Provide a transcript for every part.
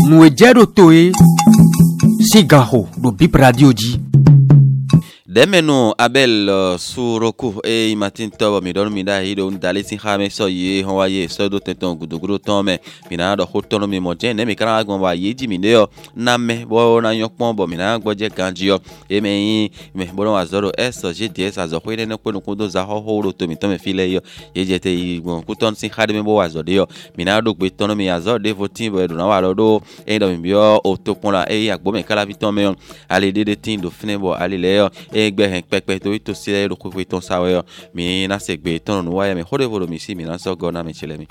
Nous ejero toe Sigaho do Bip Radio di. Demeno Abel Suroku e Martin Tobo mi don mi da hido ndale sin khame so ye ho wa ye so do teton guduguru tome mi na do hotono mi moje ne mi kana agbon wa yeji mi ne yo na me bo na yopon bo mi na gboje kanji yo e me bo no azoro eso gds azo ko ne ko no kudo za ho ho to mi to me file yo yeje te igbon kuton sin khade mi bo wa zo de yo mi na do gbe tono mi azo de votin bo do na wa do e do mi bio o to pon la e agbo me kala viton me ale de tin do fine bo ale le yo egbe hen pepe to sile ro ko ton sawe mi na segbe ton no wa mi hode volo mi si mi na so go na mi chile mi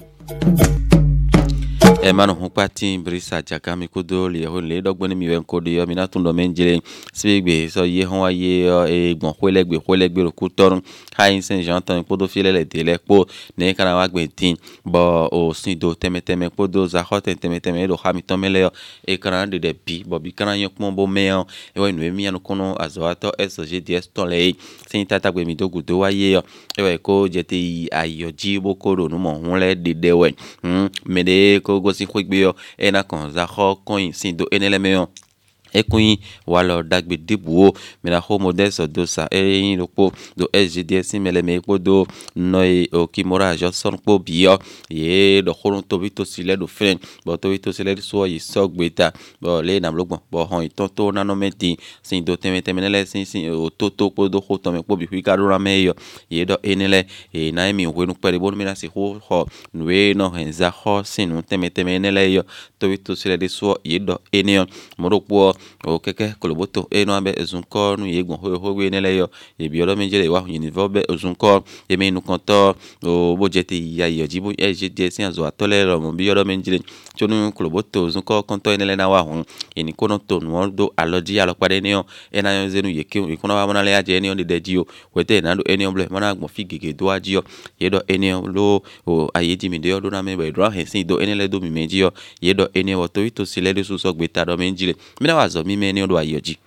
e mano hon pati brisa jaka mi kodo le dogbo ni mi we kodo yo mi na tun do menjile sigbe so ye hon wa ye e gbon holegbe ro ku torun hain sen jean tan kodo file le dele po ne kana wa gbe tin bo o sin do teme kodo za hoten teme do ha mi ton mele yo e kana de bi bo bi kana yon pon bo me e wa nu mi anu kono azoato SGDS ton le sin tata gbe mi do gudo wa ye yo e wa ko jete ayoji bo kodo nu mo hun le de we me de ko go sin kwegbe yo e na kon za ho kon sin do enele me yo ekun walo dagbe dibuo me na ho models do sa e lopo do SGDS mele me ko do noi o kimora Johnson po bio ye do khorun to bito sile do fen bo to bito sile so yi so gbeta bo le na blogbon bo hon iton to na no meti sin do teme le sin o to po do ho to me po bi wi ka do ra me yo ye do enele e na mi wenu pere bo me na si ho nwe no henza ho sin teme enele yo to bito sile de so ye do eneo moropo o keke koloboto e no abe ezunko nu yegbon ho nele yo e bi odo menjele wa univo be ezunko e me nu konto o bojete ya yo jibo SGDS azo atole ro mo bi odo menjele chonu koloboto ezunko konto enele na wa hun eni kono to nu do aloji alopade ne yo e na yo zenu yeke ikono wa mona le aje ne on de dio wete na do eni on ble mona gbon fi gege do aji yo ye do eni lo o ayeji mi de yo do na me be do hensin do enele do mi meji yo ye do eni wo to ito sile de so gbeta do menjele mi na wa zo mi me ni do ayoji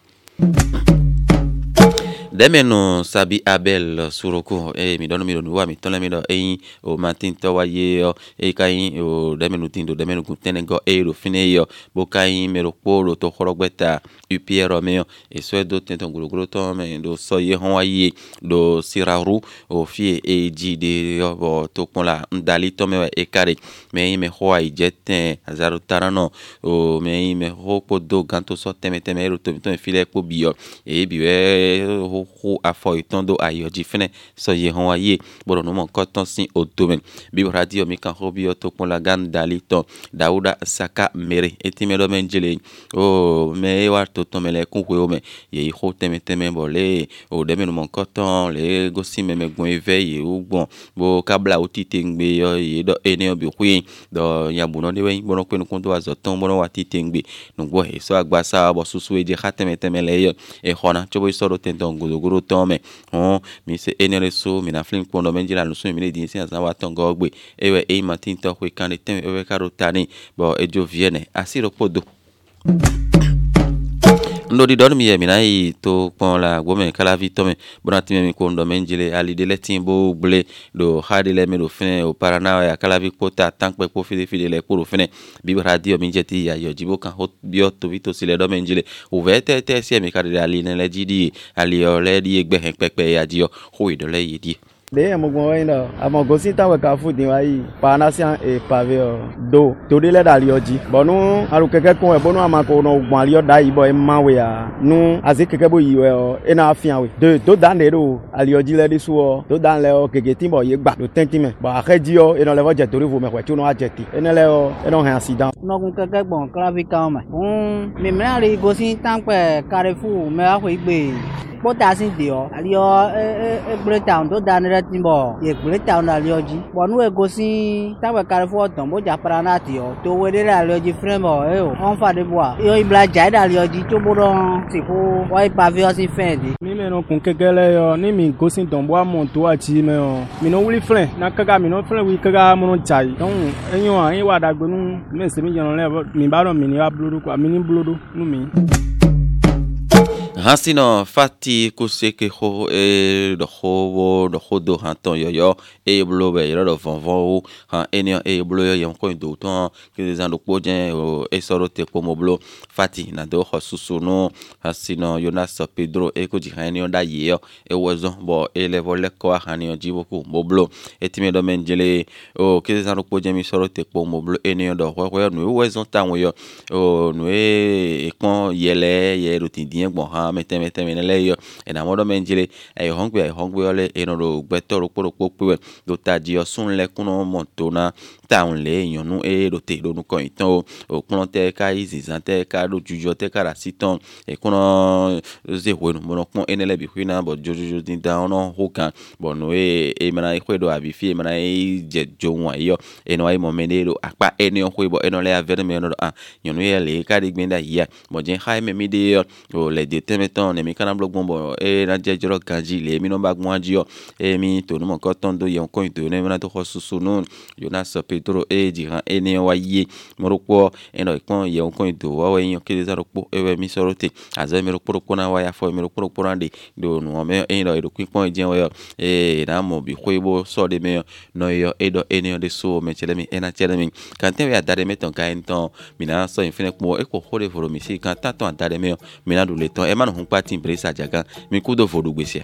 demeno sabi Abel Suroku e mi dono mi do wa mi ton le mi do e o Martin to wa ye yo e kai o demeno tindo demeno kuntenengo e ro fine yo bo kai me ro poro to khorogbeta UPR me e so do tenton guruguru to me do so ye hon wa ye do siraru o fie e ji de yo bo to pon la ndali to me e kare me ho ai jeten azaru tarano o me ho podo ganto so teme ro to file po bio e biwe ho afo itondo ayoji fene so ye hon aye bodo no mon koton sin o domaine bi radio mi kan hobi o to pon la gandali to Dauda Saka mere etime do menjele o me wa to to mele kun we o me ye ho teme bo le o de me no mon koton le gosi me gon eveye o gbon bo kabla o tite ngbe yo ye do ene obi kwin do yabuno de we bono penu kun do azoton bono wa tite ngbe no gbo he so agbasa bo susu e je khateme le yo e khona chobo so do tenton goro tome mi se enere so mi na flin pondo menjila no so mi le din sin azawa tongo ogbe ewe e Martin to ko kan tem ewe karotani bo ejo viene asiro podo ndo di don mi ye mi na yi to pon la gbo me kala vitome bonati mi ko ndo menjile ali de letin bo ble do hadi le me do fin o parana ya kala vi pota tankpe po fide le ko fin bi radio mi jeti ya yo jibo kan hot bio to vito sile do menjile o vete te si mi kala ali ne le jidi ali o le di egbe hen pepe ya dio ho ido le yidi de mo gbon yin do amo go si tawe ka fu din wa yi panasian e pave do to de le dali oji bonu aru keke kun e bonu amako no gbon ali o da yi bo e mawe ya nu azi keke bo yi we o e na afian we de to dan de do ali oji le de su o to dan le o keke tin bo ye gba do tentime ba akeji o e no le vo je tori vo me kwe ti no ajeti e ne le o e no han accident no kun keke gbon kala ka ma mi me ali go si tan pe Carrefour me a we gbe potasin de o ali o e breakdown to dan re timbo ye breakdown ali oji bonu e go si tawe Carrefour ton bo ja parana ti o to we de ali oji frame o e o on fa de boa yo ibla ja ali oji to bo don ti ko wa pave o si fendi mi me no kun kekele yo ni mi go si don bo amonto ati me o mi no wuli flen na kaga mi no flen wi kaga mo no jai don enyo an wa dagbe nu me se mi jeno le mi ba ro mi ni wa blodo kwa mi ni blodo nu mi Hansino fati kuseke ho do ho hanton yo blo be yo do vonvon han enio blo yo yon ko do ton que des ando pojen soro te como blo fati na do ho susunu hasino Jonas Pedro ko di hanio da ye wozo bo level le ko hanio jiboku moblo etime do menjele que des ando pojen mi soro te como blo enio do ho no wezon tan yo no kon yele ye rutindien bon ha mete menele yo na modo menjele hongwe ole eno do gbeto popo do taji osun le kuno montona town le yon nu do te do nu ko itan o kuno te ka izizan te ka do jujo te ka rasiton kuno ze ho no mo pon enele bi hina bo jojo din down no hokan bo no mana do abi fi mana je jowan yo eno ai mo menelo apa eno ho bo eno le avere me no yon nu le ka de gbenda ya mo jen ha me mi de o le de temeton ne mi kana blog bombo na je joro kanji le mi no bag mo aji mi to no mo ko ton do yon ko to ne na to susu no Jonas Pedro diran ene wa ye mo roko eno kon yon ko to wa yon ke de zaroko mi sorote aza mi roko na wa ya fo mi roko ande do no me eno do kwon je wa na mo bi kwebo so de me no yo edo ene de so me chele mi ena chele mi kan te ya dare meton ka enton mi na so infine mo ko hore foro mi si kan ta ton dare me mi na do le ton e ma no hun party Brisa Jagan mi ku do fodu gbesia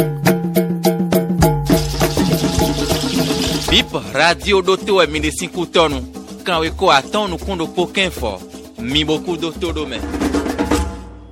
Bip radio doto e mi de 5 tonu kan we ko aton nu kundo poken fo mi boku do todo me